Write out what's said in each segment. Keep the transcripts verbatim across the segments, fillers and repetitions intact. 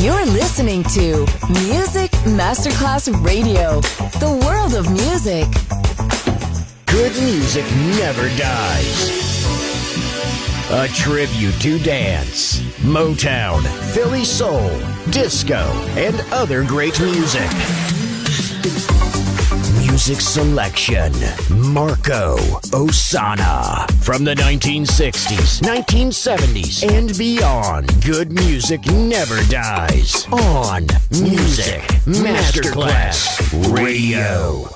You're listening to Music Masterclass Radio, the world of music. Good music never dies. A tribute to dance, Motown, Philly soul, disco, and other great music. Music selection, Marco Ossanna. From the nineteen sixties, nineteen seventies, and beyond, good music never dies. On Music Masterclass Radio.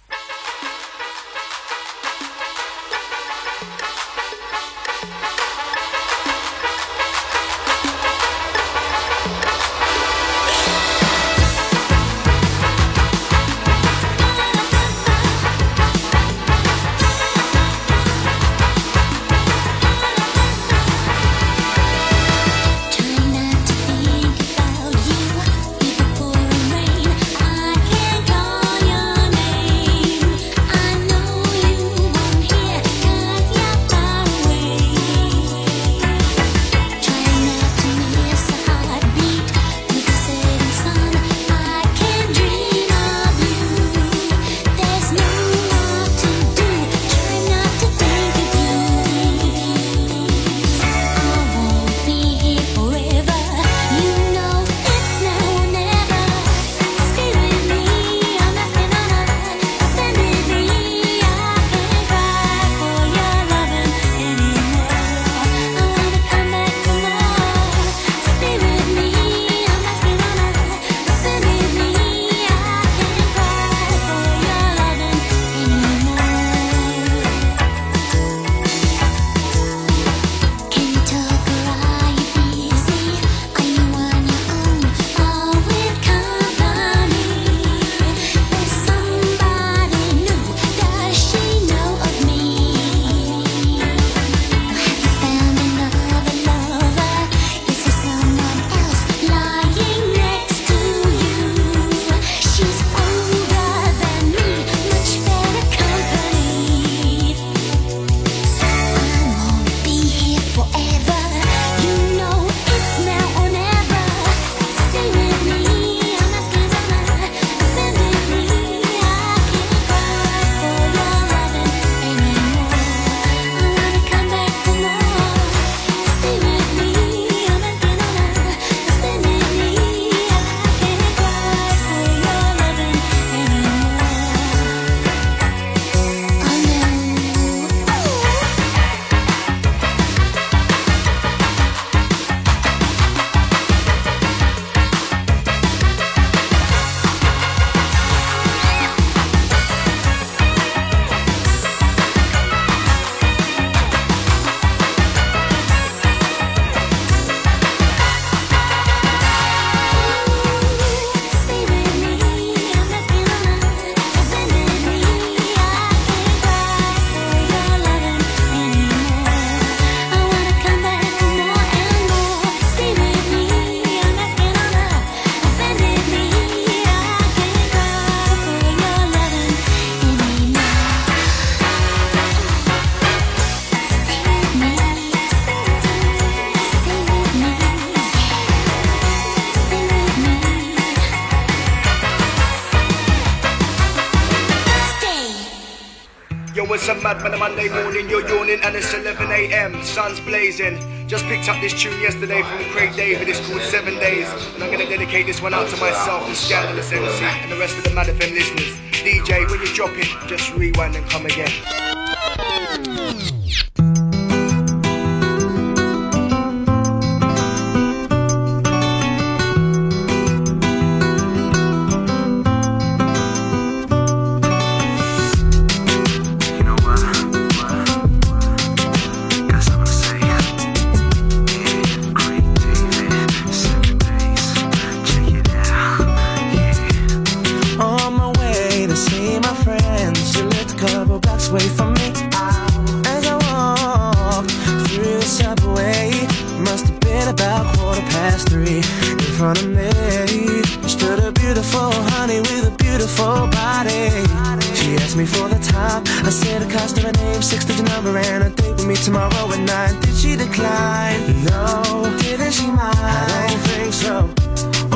Mad on a Monday morning, you're yawning and it's eleven a.m. Sun's blazing. Just picked up this tune yesterday from Craig David. It's called Seven Days, and I'm gonna dedicate this one out to myself, the Scandalous M C, and the rest of the Mad F M listeners. D J, when you drop it, just rewind and come again. Tomorrow at nine, did she decline? No, didn't she mind? I don't think so.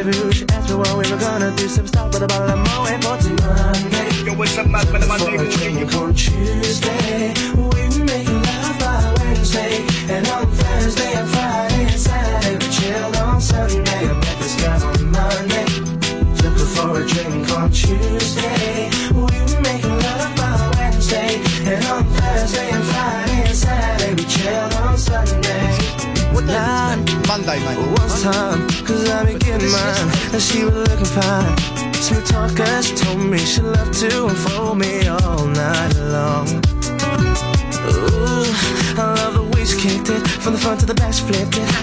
rendezvous. She asked me what we were gonna do. Some stop with a bottle of Moët for Monday. Yo, what's up, man? When I'm Monday morning, on Tuesday. We making love by Wednesday. And on Thursday and Friday and Saturday we chilled on Sunday. I met this guy on Monday. Took her for a drink on Tuesday. We were making love by Wednesday. And on Thursday and Friday and Saturday we chilled on Sunday. What time? Monday, mate. One time, cause I been getting mine. And she was looking fine. Smooth talker, she told me she loved to unfold me all night long. Ooh, I love the way she kicked it. From the front to the back, she flipped it.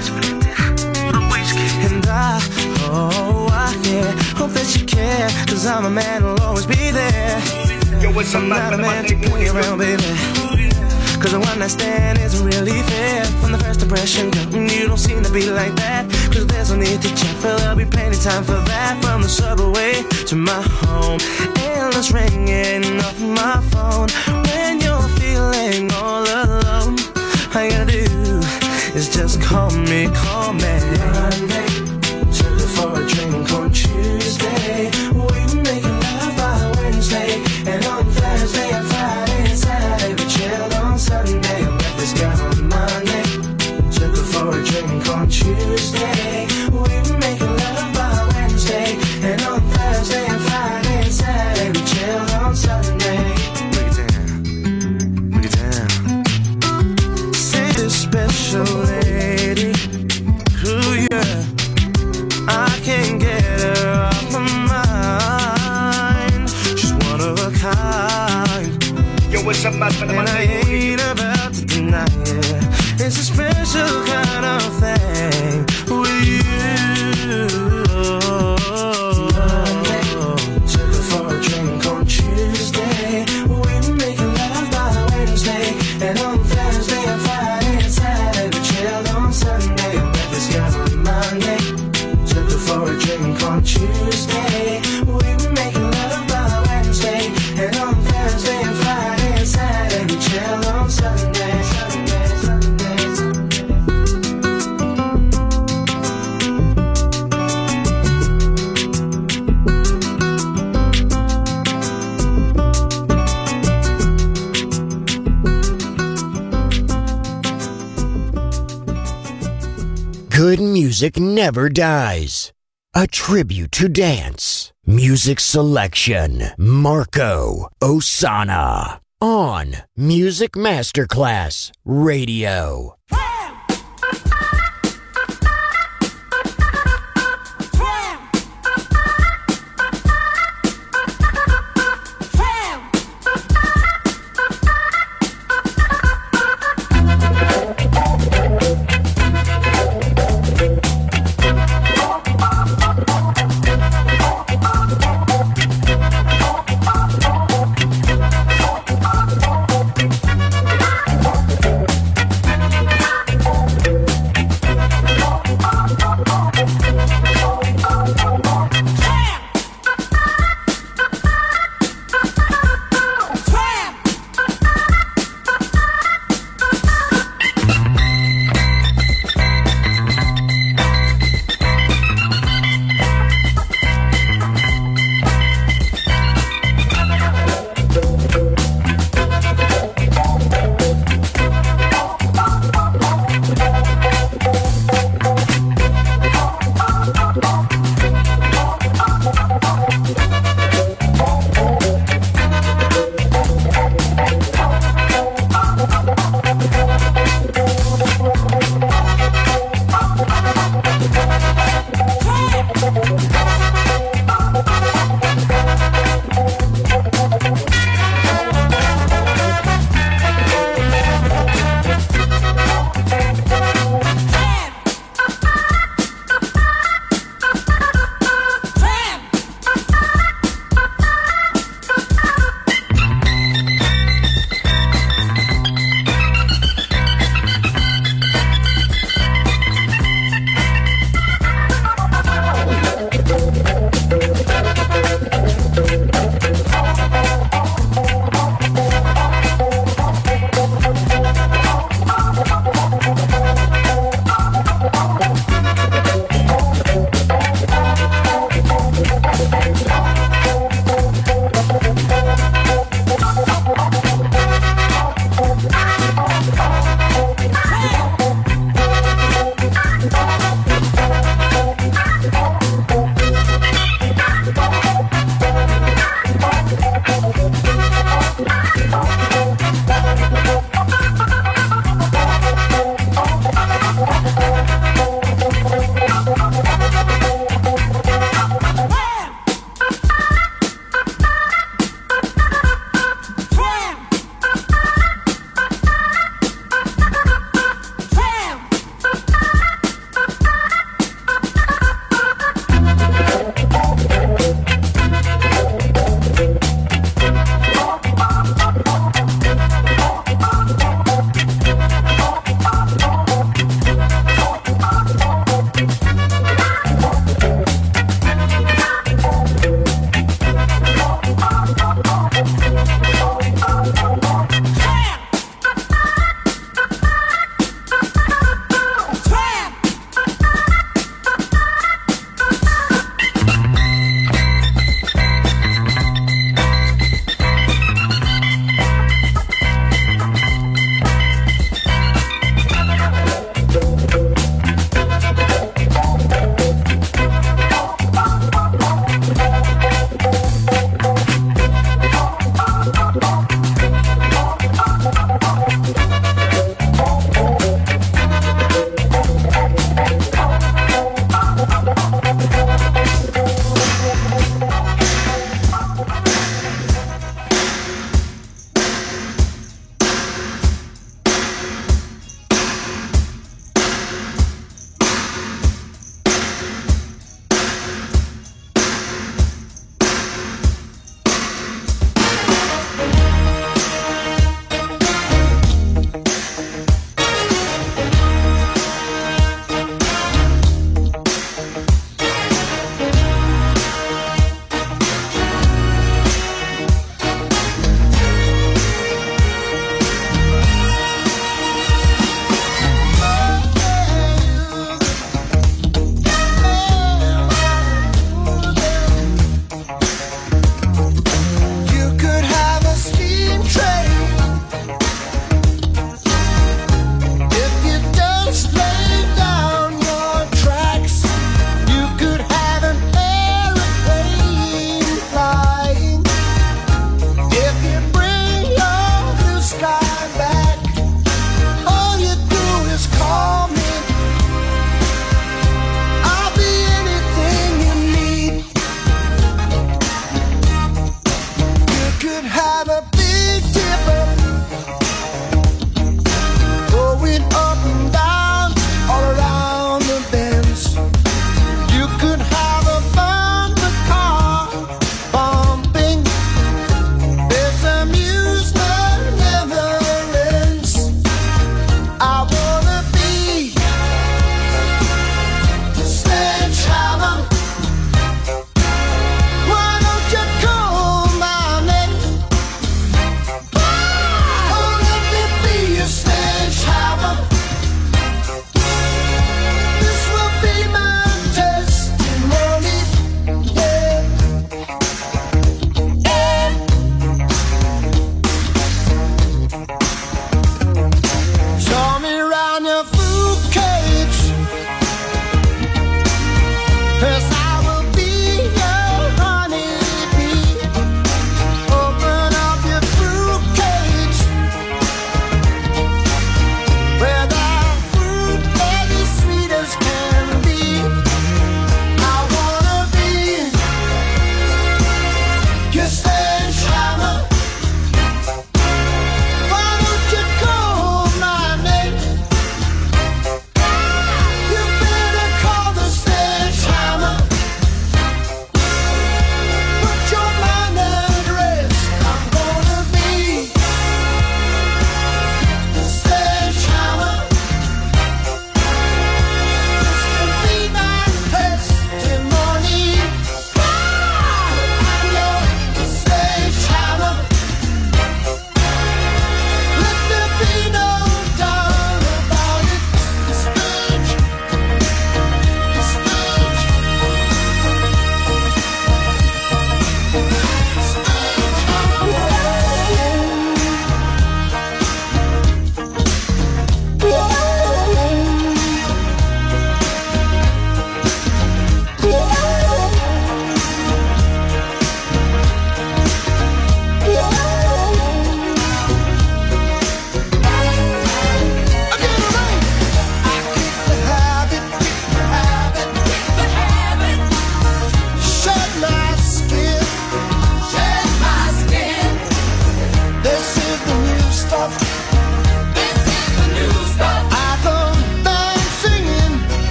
And I, oh, I, yeah, hope that you care. Cause I'm a man who'll always be there. yo, what's up, I'm man? not a When I'm man to Monday play morning, around, baby. Cause the one night stand isn't really fair. From the first impression, girl, you don't seem to be like that. Cause there's no need to check, but there'll be plenty time for that. From the subway to my home, endless ringing off my phone. When you're feeling all alone, all you gotta do is just call me, call me. Monday, took her for a drink on Tuesday. We making love by Wednesday. And on Thursday and Friday and Saturday we chilled on Sunday. I met this guy on Monday. Took her for a drink on Tuesday. We were making love by Wednesday. And on Thursday and Friday and Saturday we chilled on Sunday. Break it down, break it down. Say this special lady, ooh yeah, I can't get her off my mind. She's one of a kind. yo, what's up, man? When I'm And I Monday morning, ain't about to deny it. It's a special kind of thing with you. Monday, took her for a drink on Tuesday. We were making love by Wednesday. And on Thursday and Friday and Saturday we chilled on Sunday. I met this guy on Monday. Took her for a drink on Tuesday. We were making love by Wednesday. And on Thursday and Friday and Saturday we chilled on Sunday. Sunday, Sunday, Sunday. Good music never dies. A tribute to dance. Music selection. Marco Ossanna. On Music Masterclass Radio.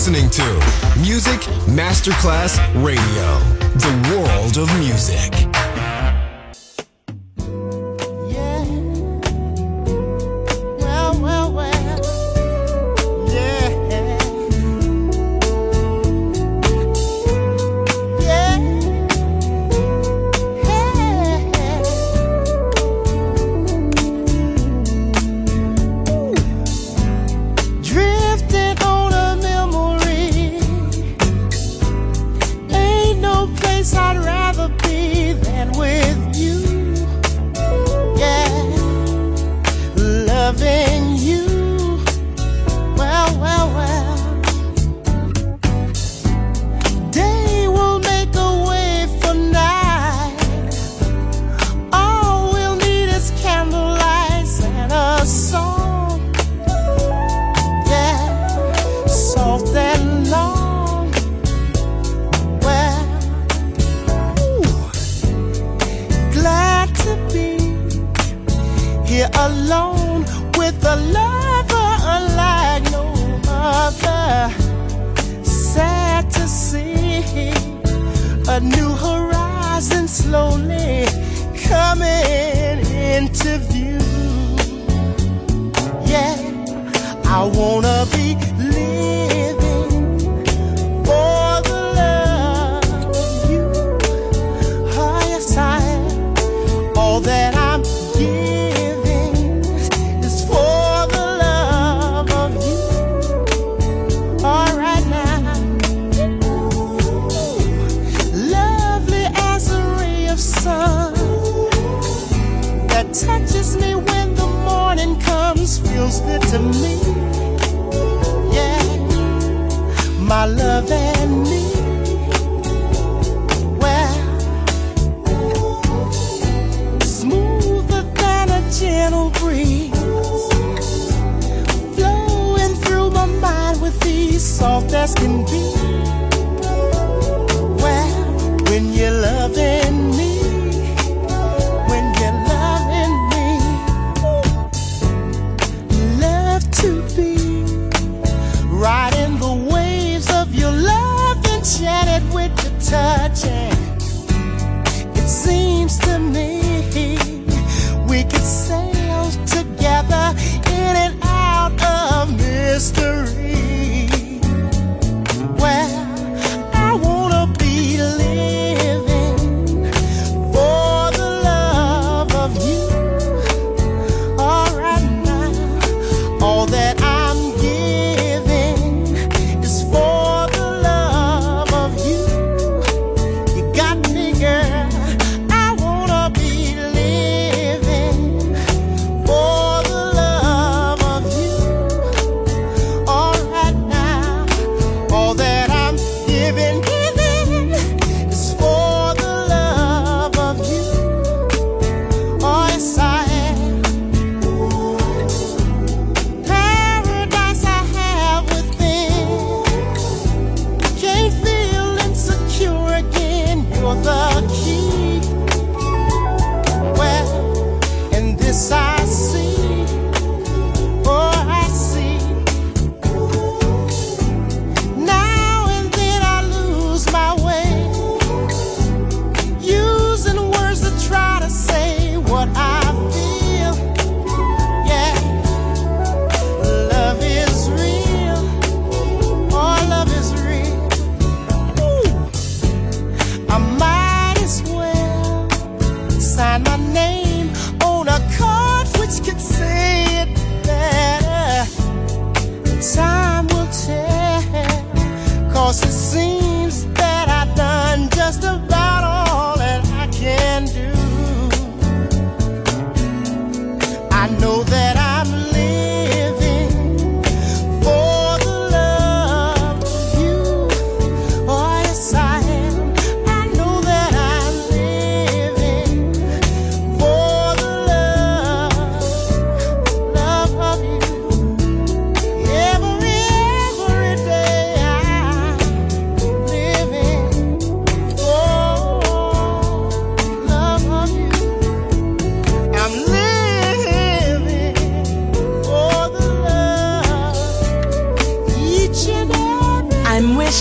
listening to Music Masterclass Radio, the world of music. Every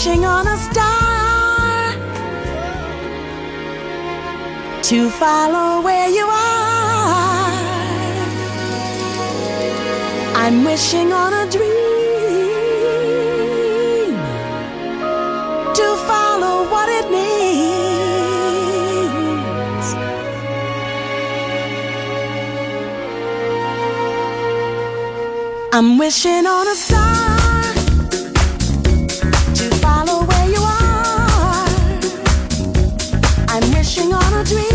wishing on a star to follow where you are. I'm wishing on a dream to follow what it means. I'm wishing on a star to follow where you are. I'm wishing on a dream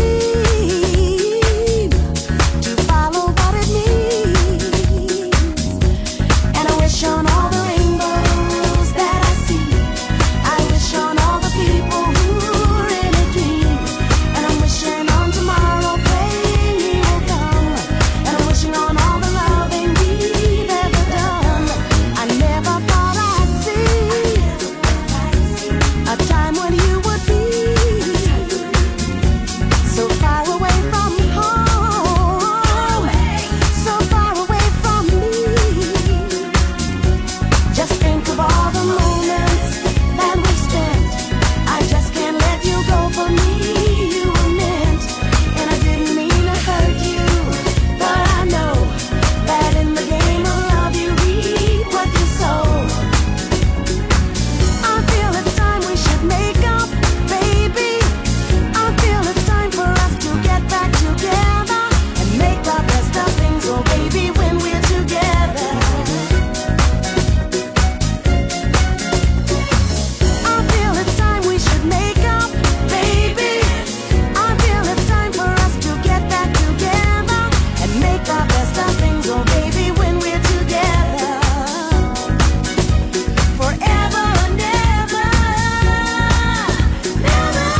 to follow what it means. And I wish on all the rainbows that I see. I wish on all the people who are in a dream. And I'm wishing on tomorrow, praying he will come. And I'm wishing on all the loving we've ever done. I never thought I'd see a time when you would be so far away from home, so far away from me. Just think of all the moments that we've spent. I just can't let you go. For me you were meant, and I didn't mean to hurt you, but I know that in the game of love you reap what you sow. I feel it's time we should make up, baby. I feel it's time for us to get back together and make the best of things, oh baby, when we're together. I feel it's time we should make up, baby. I feel it's time for us to get back together and make the best of things, oh baby, when we're together. Forever and ever, never.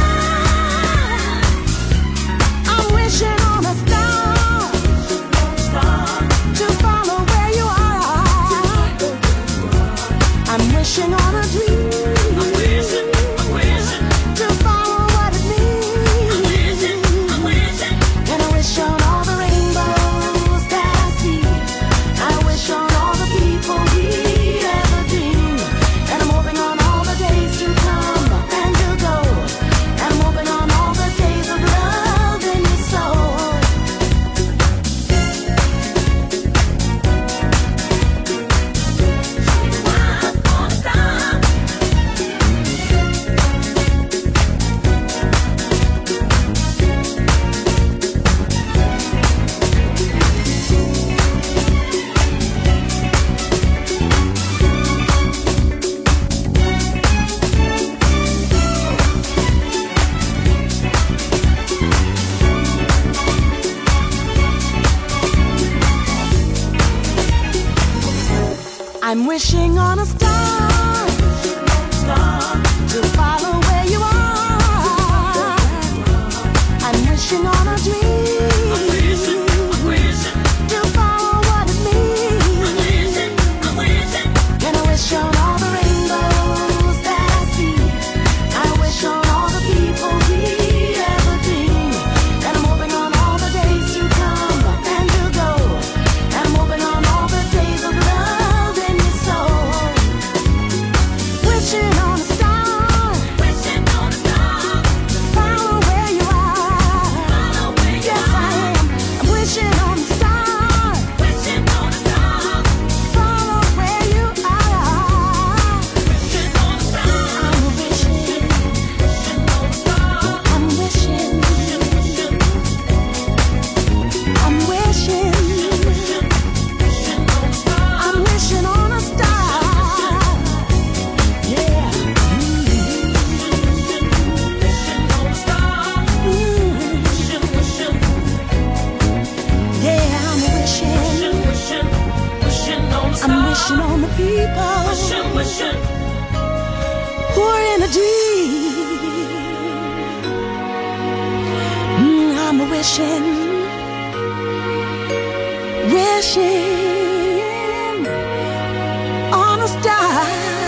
I'm wishing on a star to follow where you are. I'm wishing on a dream to follow what it means. And I wish on all the rainbows that I see. I wish on all the people we ever dreamed. And I'm hoping on all the days to come and to go. And I'm hoping on all the days of love in your soul. I'm wishing on a star to follow where you are. I'm wishing on a dream to follow what it means. And I wish on all the rainbows that I see. I wish on all the people we ever dreamed. And I'm hoping on all the days to come and to go. And I'm hoping on all the days of love in your soul. Wishing on a star, wishing on a star, follow where you are. Yes, I am. I'm wishing on a star, wishing on a star, follow where you are. Wishing on a star, I'm wishing, wishing on a star, I'm wishing, I'm wishing, I'm wishing on a star. Yeah. Yeah, I'm wishing. I'm wishing on the people who are in a dream. Mm, I'm wishing, wishing on a star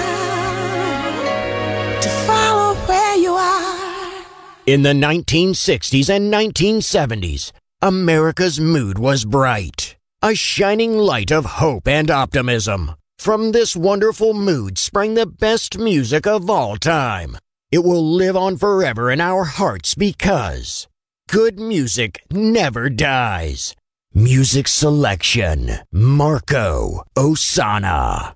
to follow where you are. In the nineteen sixties and nineteen seventies, America's mood was bright. A shining light of hope and optimism. From this wonderful mood sprang the best music of all time. It will live on forever in our hearts because good music never dies. Music selection, Marco Ossanna.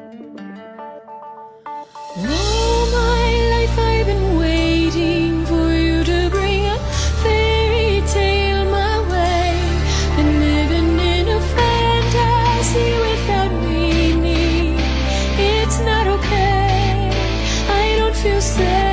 All my life I've been waiting for you to bring a fairy tale my way. Been living in a fantasy without meaning. It's not okay, I don't feel safe.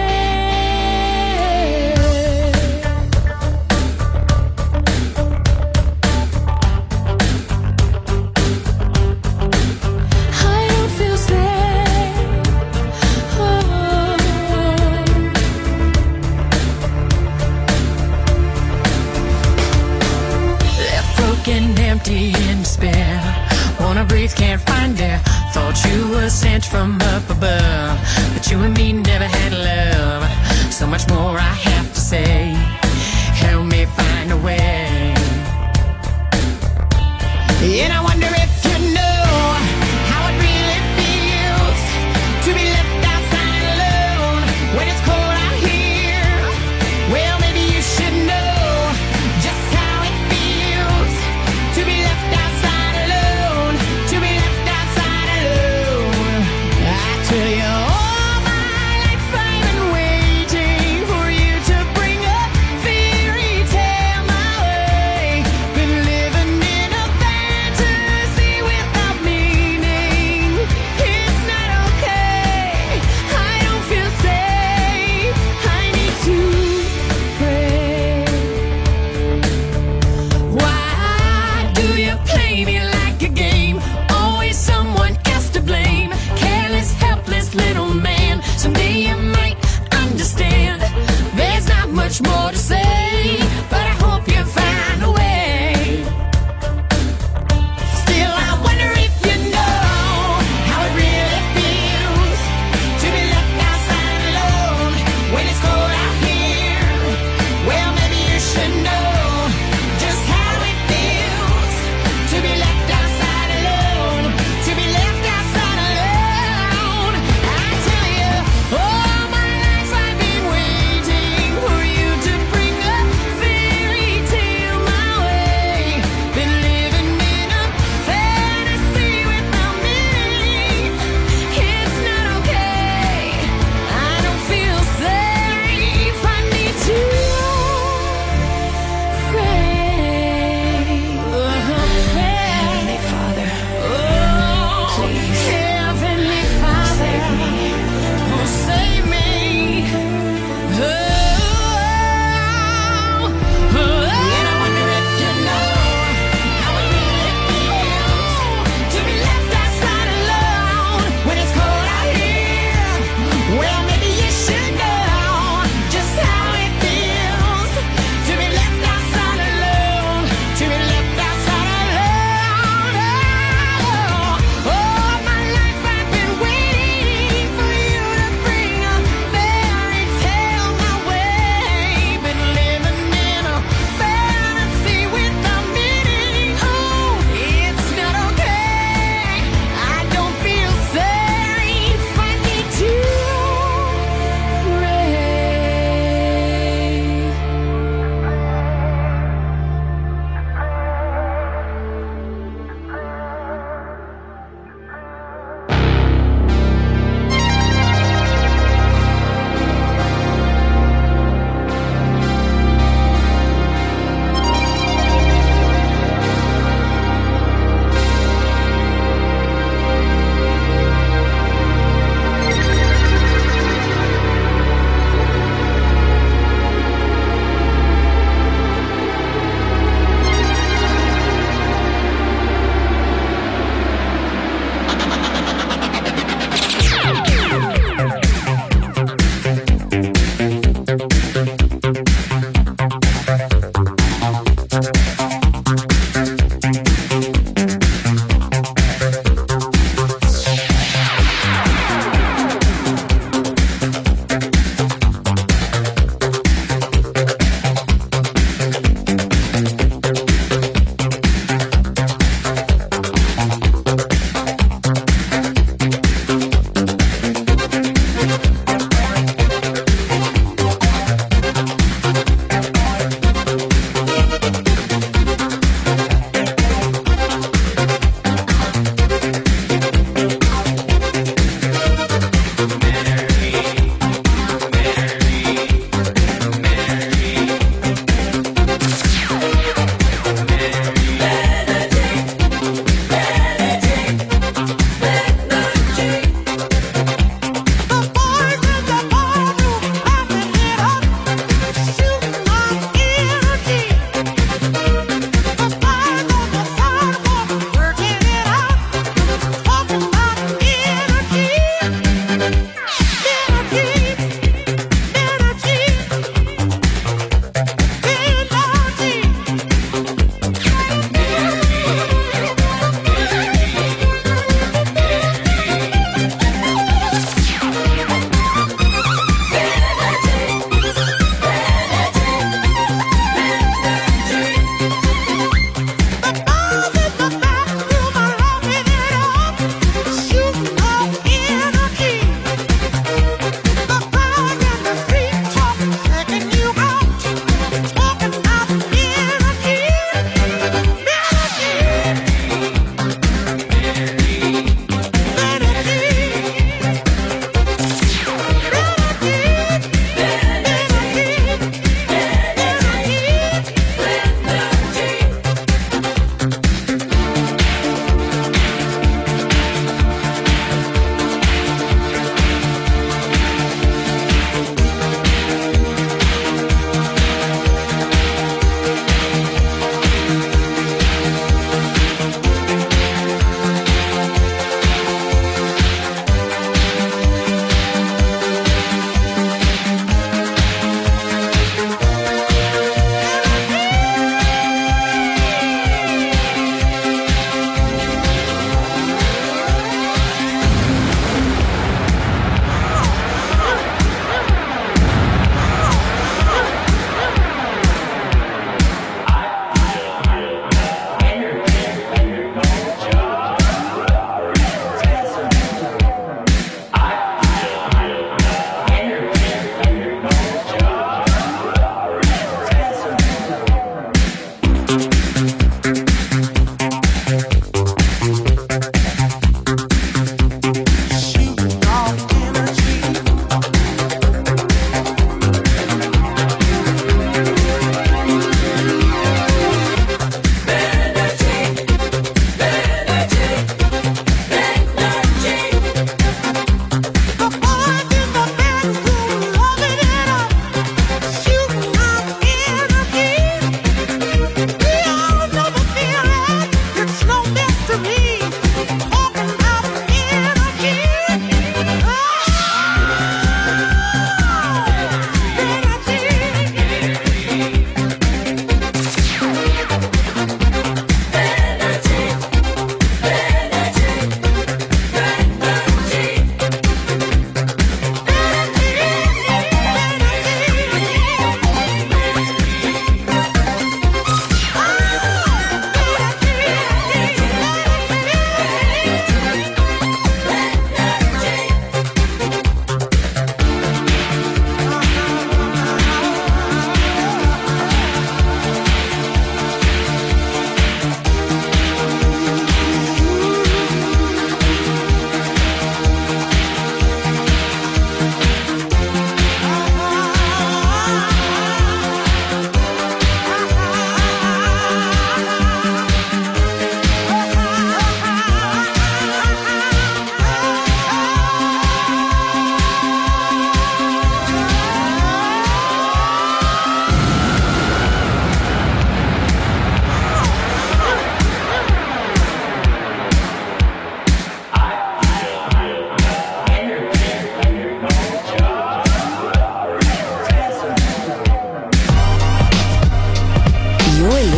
Empty in despair, wanna breathe, can't find air. Thought you were sent from up above, but you and me never had love. So much more I have to say, help me find a way. And I wonder if you know how it really feels to be left outside alone when it's cold out here. Well, maybe you should know just how it feels to be left outside alone, to be left outside alone. I tell you, all my life I've been waiting for you to bring a fairy tale my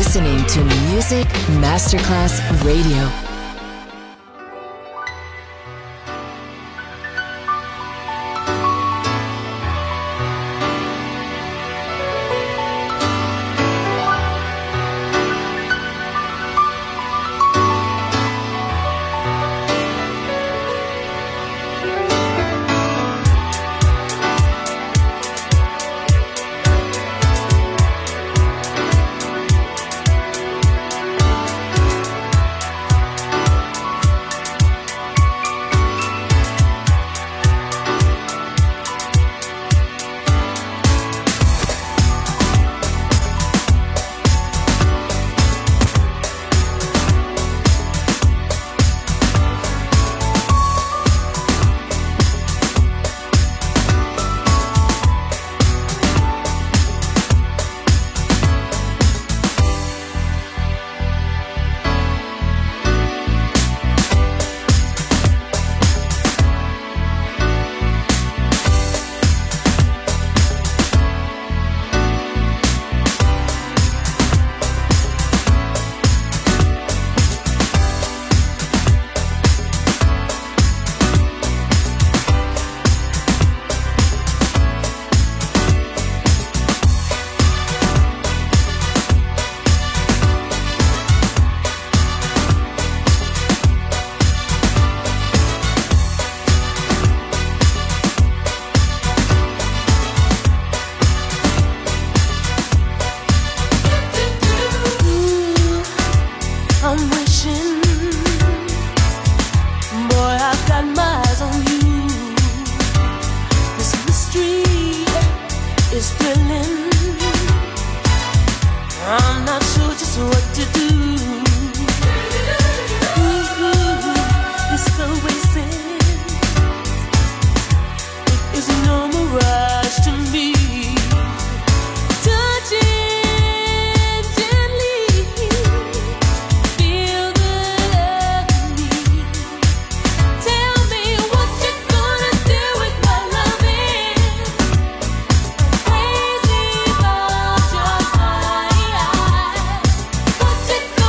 listening to Music Masterclass Radio. What you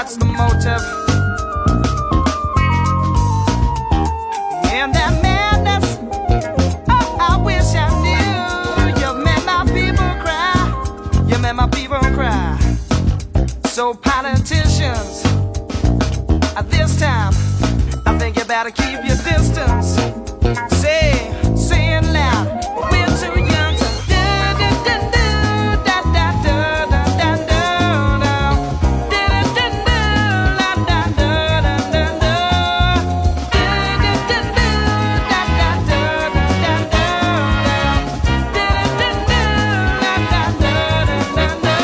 what's the motive? And that madness, oh, I wish I knew. You made my people cry. You made my people cry. So politicians, at this time, I think you better keep your distance. Say, say it loud. We're too young to do, do, do, do, da, da, do, da, da, do, do, do, do, do, da, da, do, da, da, do, do, do, do, da, da, do, da, da, do, do, do, da, da, do, da, da, do.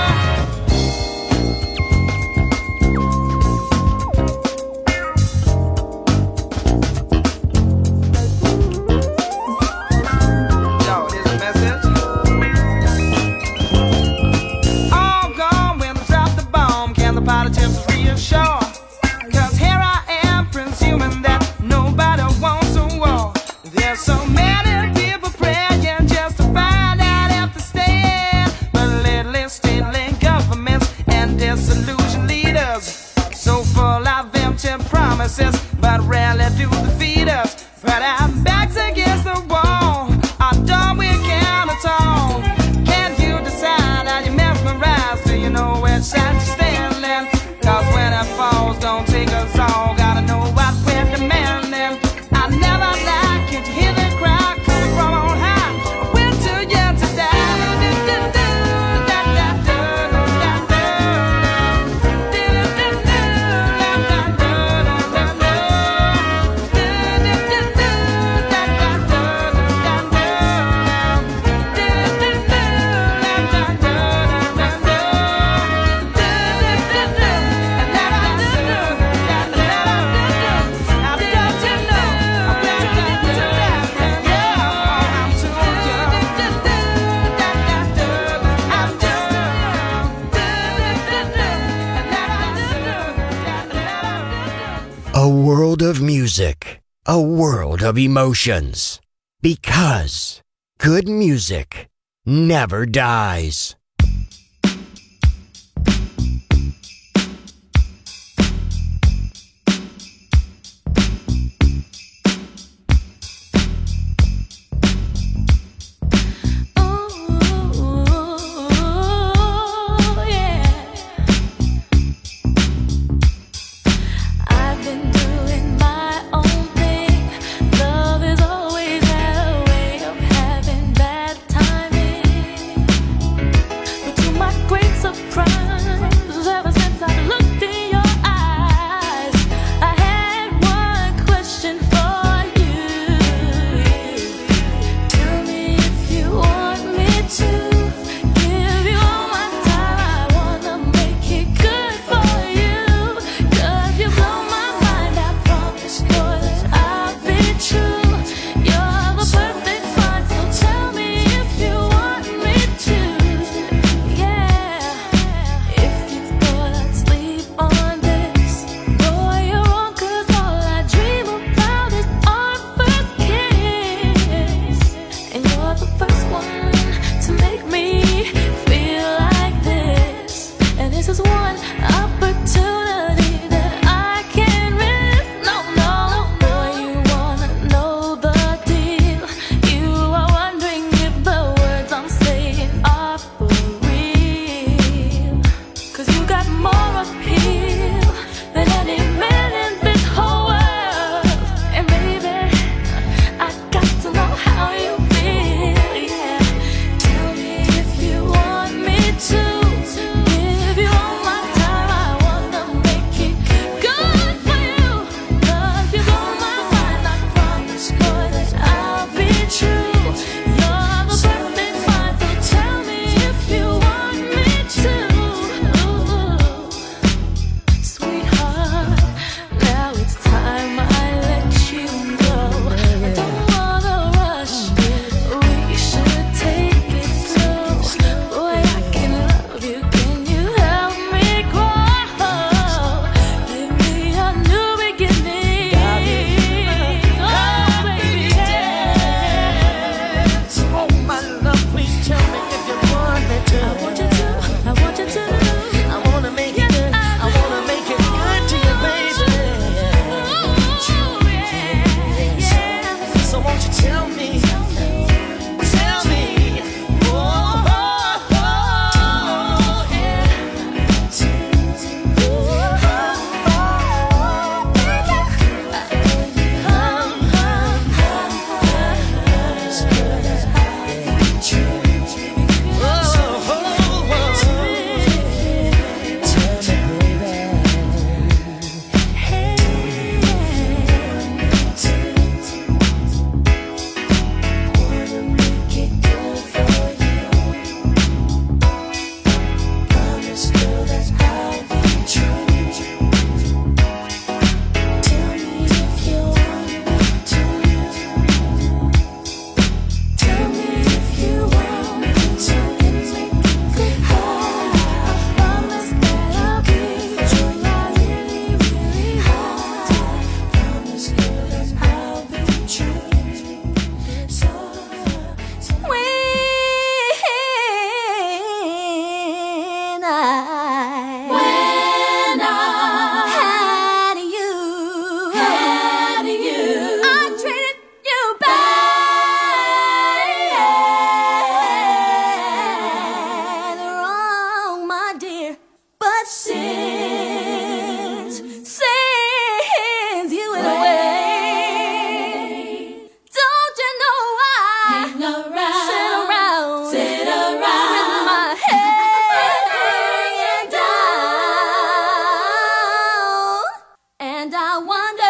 But rarely do defeat us. But our backs against the wall, our done we can't atone. Can't you decide how you mesmerize? Do you know which side you're standing? Cause when it falls, don't take us all. Gotta know what we're demanding. I never lie, can't you hear the crowd coming from on high? We're too young to die. A world of music, a world of emotions. Because good music never dies. Always had a way of having bad timing. around, sit around, sit around with my head hanging down, and I wonder.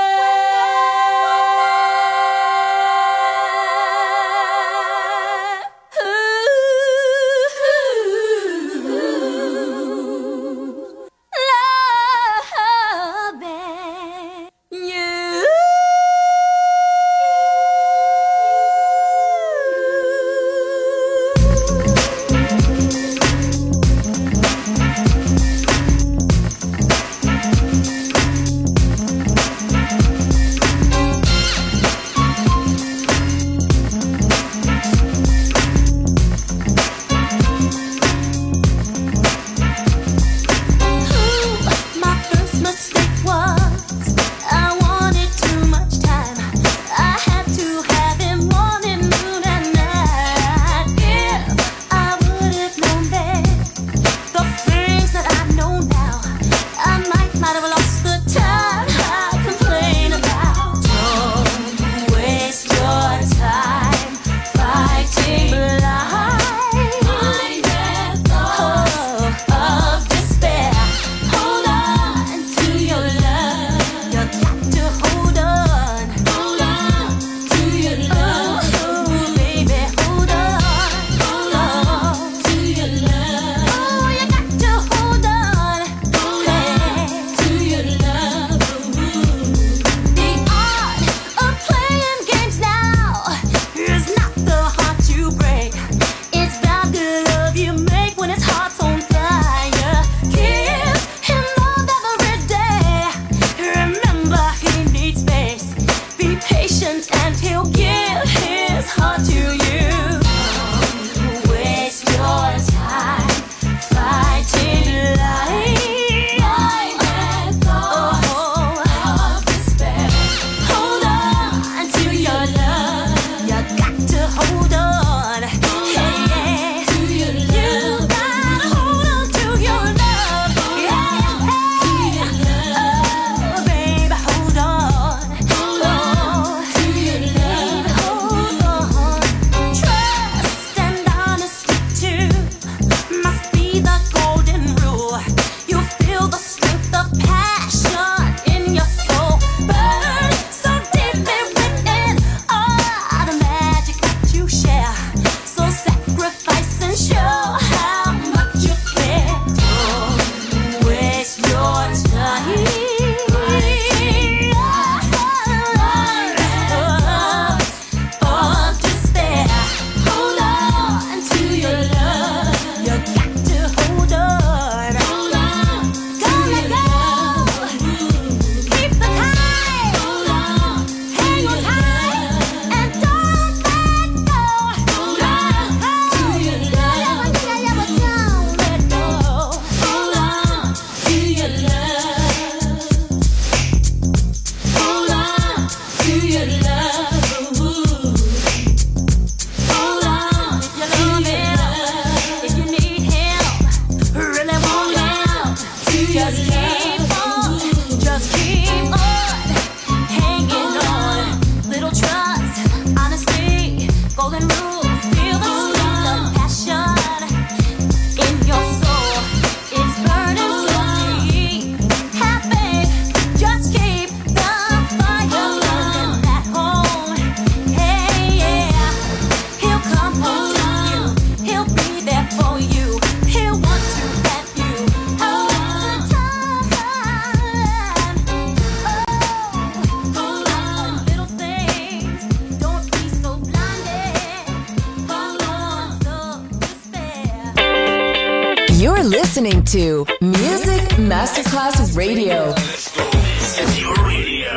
You're listening to Music Masterclass Radio. This is your radio.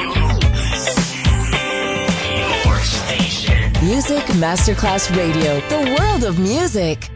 Your station. Music Masterclass Radio. The world of music.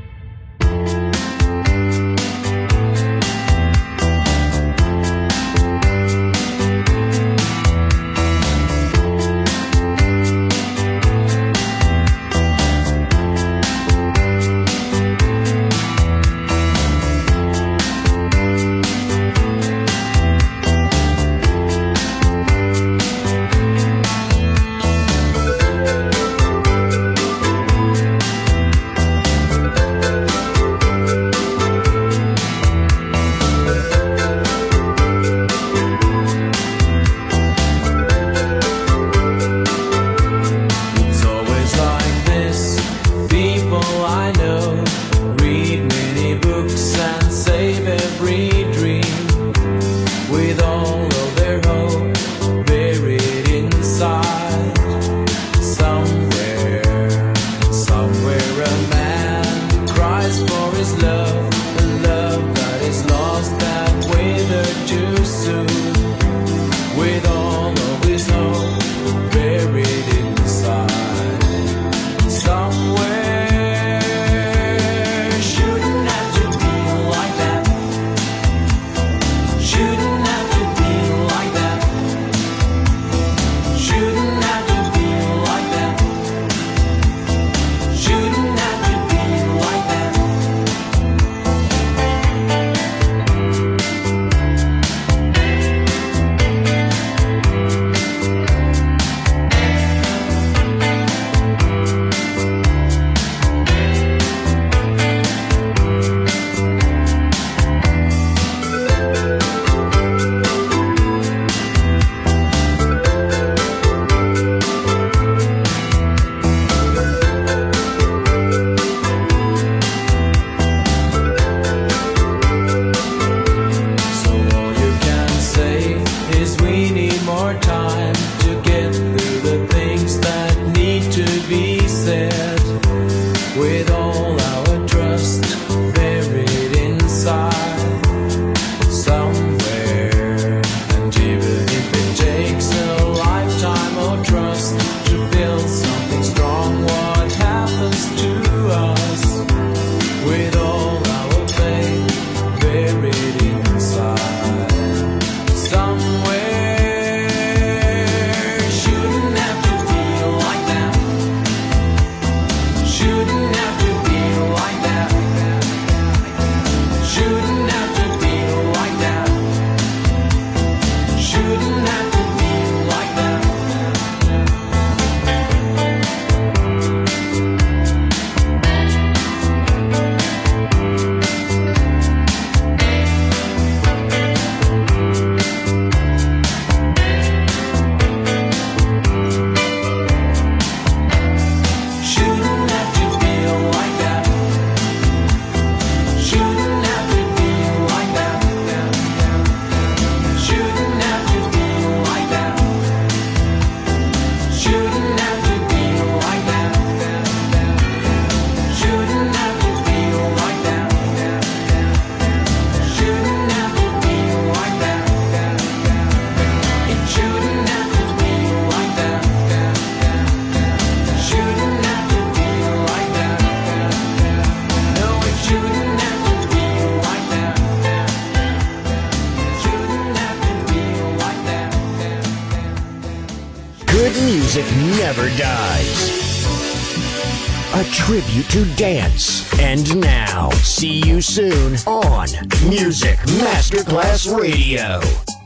Good music never dies. A tribute to dance. And now, see you soon on Music Masterclass Radio.